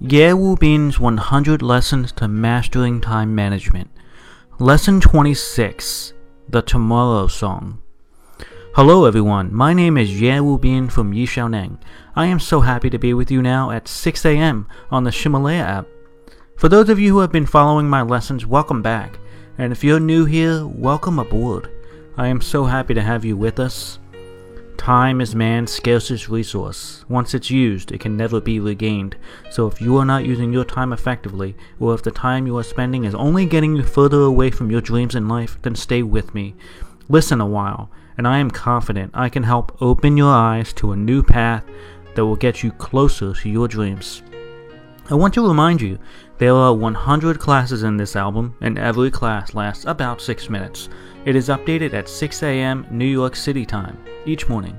Ye Wu Bin's 100 Lessons to Mastering Time Management. Lesson 26, The Tomorrow Song. Hello everyone, my name is Ye Wu Bin from Yixiaoneng. I am so happy to be with you now at 6 a.m. on the Ximalaya app. For those of you who have been following my lessons, welcome back. And if you're new here, welcome aboard. I am so happy to have you with us. Time is man's scarcest resource. Once it's used, it can never be regained. So if you are not using your time effectively, or if the time you are spending is only getting you further away from your dreams in life, then stay with me. Listen a while, and I am confident I can help open your eyes to a new path that will get you closer to your dreams. I want to remind you, there are 100 classes in this album, and every class lasts about 6 minutes. It is updated at 6 a.m. New York City time each morning.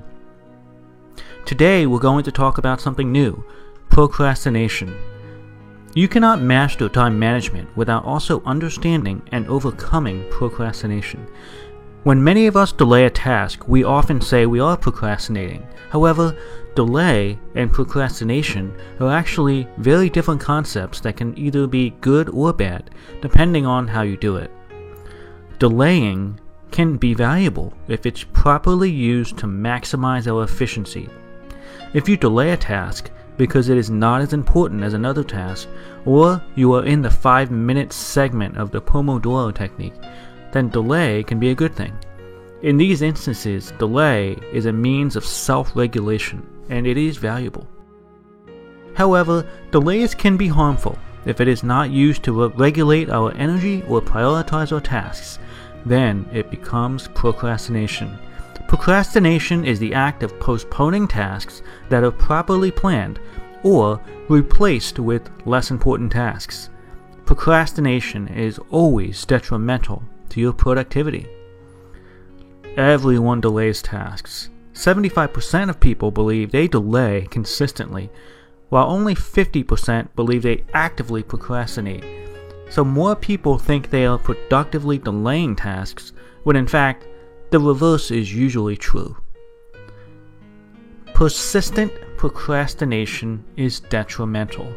Today we're going to talk about something new, procrastination. You cannot master time management without also understanding and overcoming procrastination. When many of us delay a task, we often say we are procrastinating. However, delay and procrastination are actually very different concepts that can either be good or bad, depending on how you do it. Delaying can be valuable if it's properly used to maximize our efficiency. If you delay a task because it is not as important as another task, or you are in the 5-minute segment of the Pomodoro technique, then delay can be a good thing. In these instances, delay is a means of self-regulation, and it is valuable. However, delays can be harmful if it is not used to regulate our energy or prioritize our tasks. Then it becomes procrastination. Procrastination is the act of postponing tasks that are properly planned or replaced with less important tasks. Procrastination is always detrimental to your productivity. Everyone delays tasks. 75% of people believe they delay consistently, while only 50% believe they actively procrastinate. So more people think they are productively delaying tasks, when in fact, the reverse is usually true. Persistent procrastination is detrimental.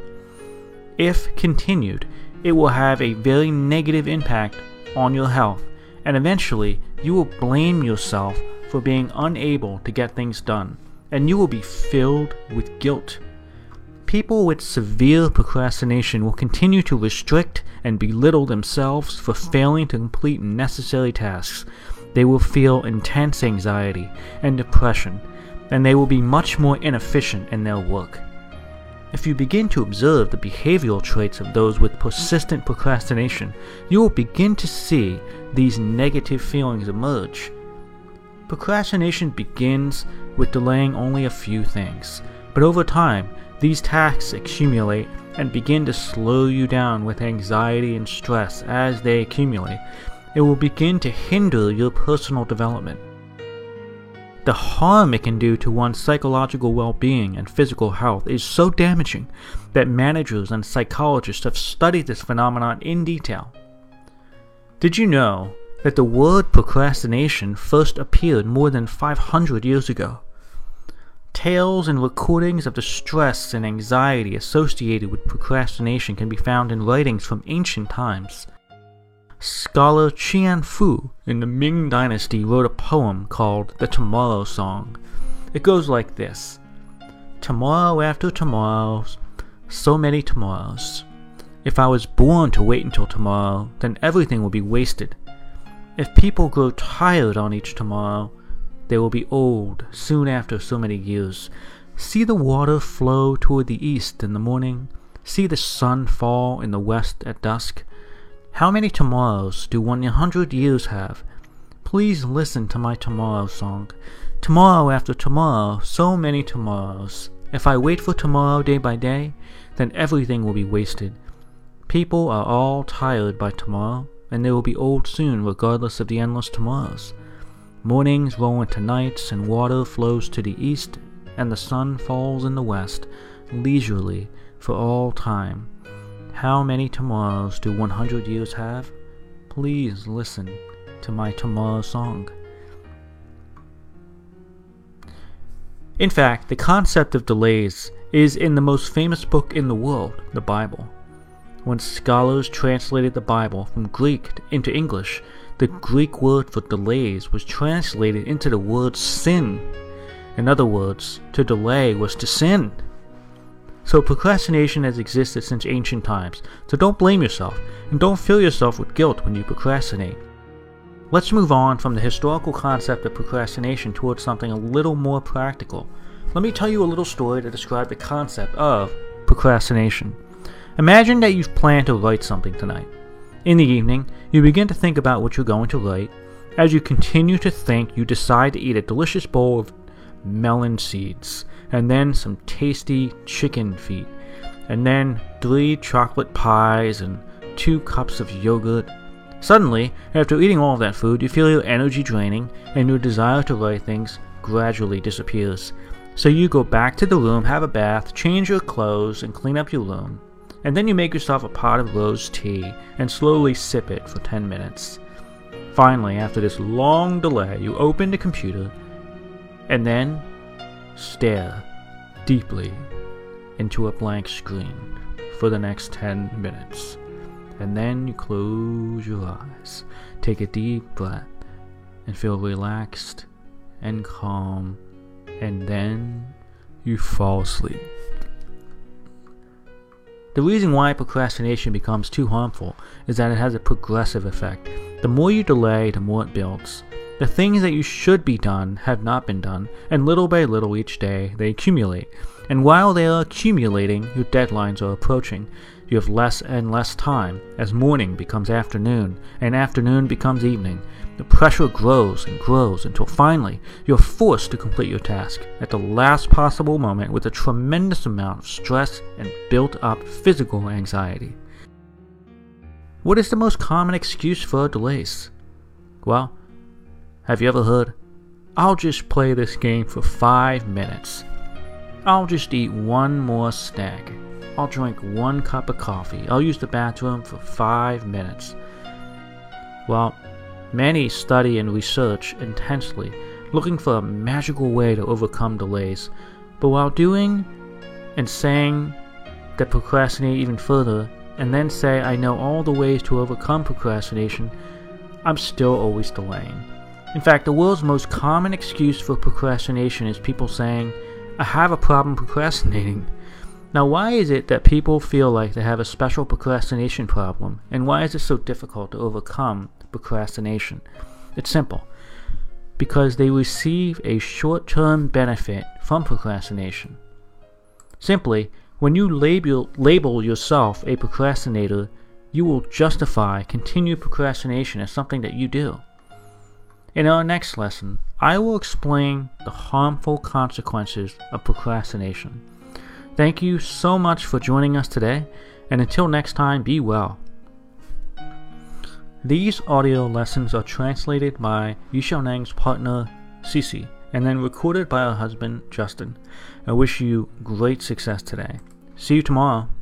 If continued, it will have a very negative impact on your health, and eventually you will blame yourself for being unable to get things done, and you will be filled with guilt. People with severe procrastination will continue to restrict and belittle themselves for failing to complete necessary tasks. They will feel intense anxiety and depression, and they will be much more inefficient in their work. If you begin to observe the behavioral traits of those with persistent procrastination, you will begin to see these negative feelings emerge. Procrastination begins with delaying only a few things, but over time, these tasks accumulate and begin to slow you down with anxiety and stress. As they accumulate, it will begin to hinder your personal development. The harm it can do to one's psychological well-being and physical health is so damaging that managers and psychologists have studied this phenomenon in detail. Did you know that the word procrastination first appeared more than 500 years ago? Tales and recordings of the stress and anxiety associated with procrastination can be found in writings from ancient times. Scholar Qian Fu in the Ming Dynasty wrote a poem called The Tomorrow Song. It goes like this: Tomorrow after tomorrow, so many tomorrows. If I was born to wait until tomorrow, then everything will be wasted. If people grow tired on each tomorrow, they will be old soon after so many years. See the water flow toward the east in the morning. See the sun fall in the west at dusk. How many tomorrows do 100 years have? Please listen to my tomorrow song. Tomorrow after tomorrow, so many tomorrows. If I wait for tomorrow day by day, then everything will be wasted. People are all tired by tomorrow, and they will be old soon regardless of the endless tomorrows. Mornings roll into nights, and water flows to the east, and the sun falls in the west, leisurely for all time. How many tomorrows do 100 years have? Please listen to my tomorrow song. In fact, the concept of delays is in the most famous book in the world, the Bible. When scholars translated the Bible from Greek into English, the Greek word for delays was translated into the word sin. In other words, to delay was to sin. So procrastination has existed since ancient times, so don't blame yourself, and don't fill yourself with guilt when you procrastinate. Let's move on from the historical concept of procrastination towards something a little more practical. Let me tell you a little story to describe the concept of procrastination. Imagine that you've planned to write something tonight. In the evening, you begin to think about what you're going to write. As you continue to think, you decide to eat a delicious bowl of melon seeds, and then some tasty chicken feet, and then 3 chocolate pies and 2 cups of yogurt. Suddenly, after eating all of that food, you feel your energy draining, and your desire to write things gradually disappears. So you go back to the room, have a bath, change your clothes, and clean up your room. And then you make yourself a pot of rose tea and slowly sip it for 10 minutes. Finally, after this long delay, you open the computer and then stare deeply into a blank screen for the next 10 minutes. And then you close your eyes, take a deep breath, and feel relaxed and calm, and then you fall asleep. The reason why procrastination becomes too harmful is that it has a progressive effect. The more you delay, the more it builds. The things that you should be done have not been done, and little by little each day they accumulate. And while they are accumulating, your deadlines are approaching. You have less and less time as morning becomes afternoon and afternoon becomes evening. The pressure grows and grows until finally you're forced to complete your task at the last possible moment with a tremendous amount of stress and built-up physical anxiety. What is the most common excuse for delays? Well, have you ever heard, "I'll just play this game for 5 minutes. I'll just eat one more snack. I'll drink 1 cup of coffee. I'll use the bathroom for 5 minutes." Well, many study and research intensely, looking for a magical way to overcome delays. But while doing and saying that procrastinate even further, and then say I know all the ways to overcome procrastination, I'm still always delaying. In fact, the world's most common excuse for procrastination is people saying, "I have a problem procrastinating." Now, why is it that people feel like they have a special procrastination problem, and why is it so difficult to overcome procrastination? It's simple. Because they receive a short-term benefit from procrastination. Simply, when you label yourself a procrastinator, you will justify continued procrastination as something that you do. In our next lesson, I will explain the harmful consequences of procrastination. Thank you so much for joining us today, and until next time, be well. These audio lessons are translated by Yixiaoneng's partner, Cici, and then recorded by her husband, Justin. I wish you great success today. See you tomorrow.